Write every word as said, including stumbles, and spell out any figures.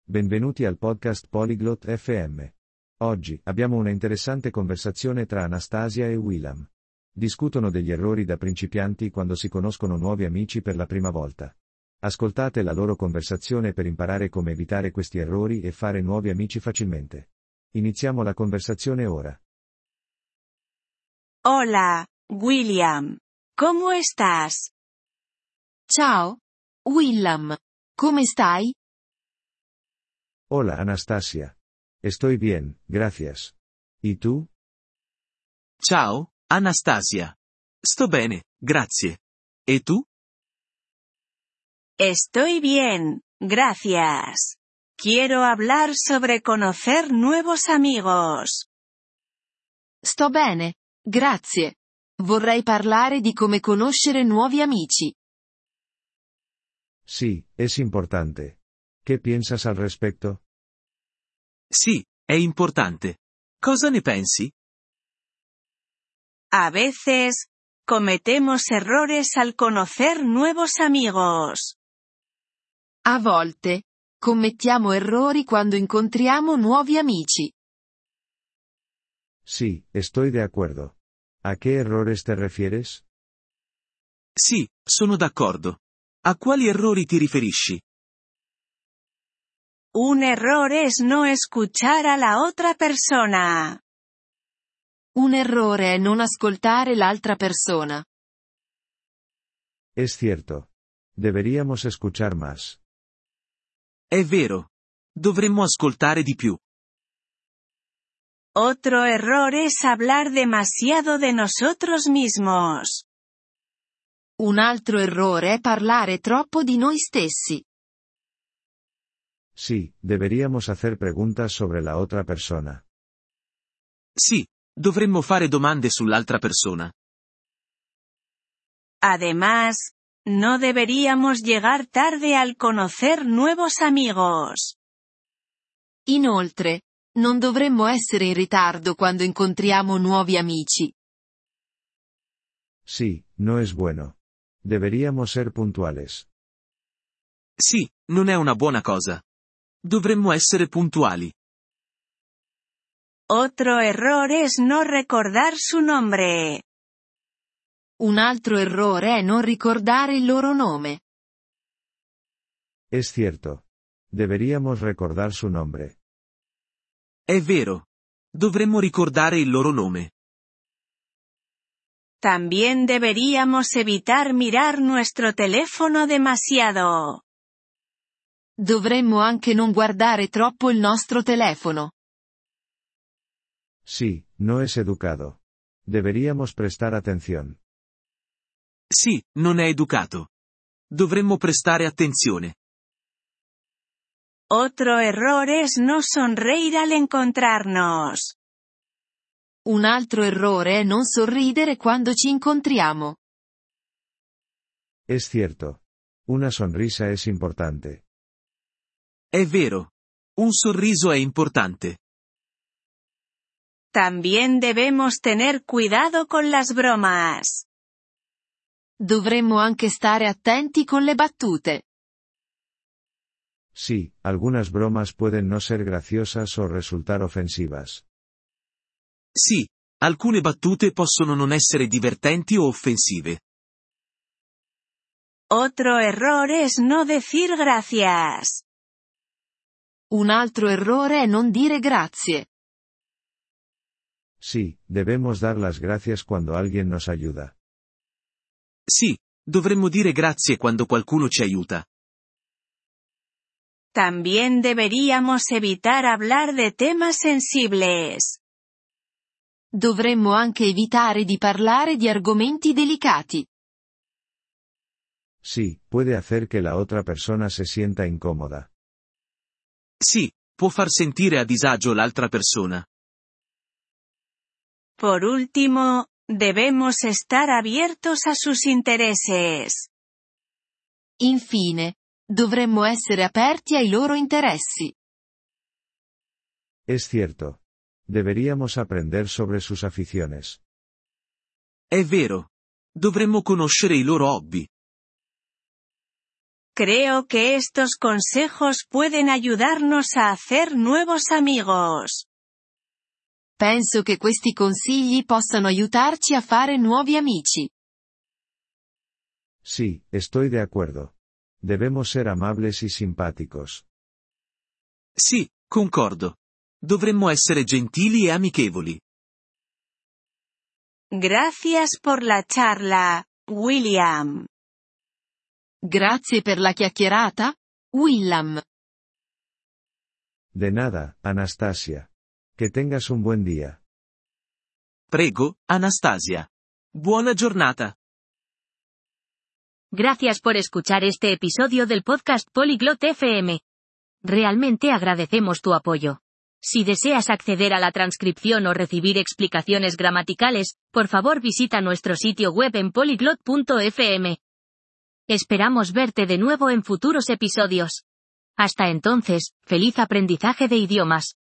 Benvenuti al podcast Polyglot F M. Oggi abbiamo una interessante conversazione tra Anastasia e Willam. Discutono degli errori da principianti quando si conoscono nuovi amici per la prima volta. Ascoltate la loro conversazione per imparare come evitare questi errori e fare nuovi amici facilmente. Iniziamo la conversazione ora. Hola, William. ¿Cómo estás? Ciao, Willam. Come stai? Hola Anastasia. Estoy bien, gracias. ¿Y tú? Ciao, Anastasia. Sto bene, grazie. E tu? Estoy bien, gracias. Quiero hablar sobre conocer nuevos amigos. Sto bene, grazie. Vorrei parlare di come conoscere nuovi amici. Sí, es importante. ¿Qué piensas al respecto? Sì, è importante. Cosa ne pensi? A veces, cometemos errores al conocer nuevos amigos. A volte, commettiamo errori quando incontriamo nuovi amici. Sí, estoy de acuerdo. ¿A qué errores te refieres? Sì, sono d'accordo. A quali errori ti riferisci? Un error es no escuchar a la otra persona. Un errore è non ascoltare l'altra persona. Es cierto. Deberíamos escuchar más. È vero. Dovremmo ascoltare di più. Otro error es hablar demasiado de nosotros mismos. Un altro errore è parlare troppo di noi stessi. Sí, deberíamos hacer preguntas sobre la otra persona. Sì, dovremmo fare domande sull'altra persona. Además, no deberíamos llegar tarde al conocer nuevos amigos. Inoltre, non dovremmo essere in ritardo quando incontriamo nuovi amici. Sí, no es bueno. Deberíamos ser puntuales. Sì, non è una buona cosa. Dovremmo essere puntuali. Otro error es no recordar su nombre. Un altro errore è non ricordare il loro nome. Es cierto. Deberíamos recordar su nombre. È vero. Dovremmo ricordare il loro nome. También deberíamos evitar mirar nuestro teléfono demasiado. Dovremmo anche non guardare troppo il nostro telefono. Sí, no es educado. Deberíamos prestar atención. Sì, non è educato. Dovremmo prestare attenzione. Otro error es no sonreír al encontrarnos. Un altro errore è non sorridere quando ci incontriamo. Es cierto. Una sonrisa es importante. È vero. Un sorriso è importante. También debemos tener cuidado con las bromas. Dovremmo anche stare attenti con le battute. Sí, algunas bromas pueden no ser graciosas o resultar ofensivas. Sì, alcune battute possono non essere divertenti o offensive. Otro error es no decir gracias. Un altro errore è non dire grazie. Sí, debemos dar las gracias cuando alguien nos ayuda. Sì, dovremmo dire grazie quando qualcuno ci aiuta. También deberíamos evitar hablar de temas sensibles. Dovremmo anche evitare di parlare di argomenti delicati. Sí, puede hacer que la otra persona se sienta incómoda. Sì, può far sentire a disagio l'altra persona. Por último, debemos estar abiertos a sus intereses. Infine, dovremmo essere aperti ai loro interessi. Es cierto. Deberíamos aprender sobre sus aficiones. È vero. Dovremmo conoscere i loro hobby. Creo que estos consejos pueden ayudarnos a hacer nuevos amigos. Penso che questi consigli possano aiutarci a fare nuovi amici. Sí, estoy de acuerdo. Debemos ser amables y simpáticos. Sì, concordo. Dovremmo essere gentili e amichevoli. Gracias por la charla, William. Grazie per la chiacchierata, William. De nada, Anastasia. Que tengas un buen día. Prego, Anastasia. Buona giornata. Gracias por escuchar este episodio del podcast Polyglot F M. Realmente agradecemos tu apoyo. Si deseas acceder a la transcripción o recibir explicaciones gramaticales, por favor visita nuestro sitio web en polyglot punto f m. Esperamos verte de nuevo en futuros episodios. Hasta entonces, feliz aprendizaje de idiomas.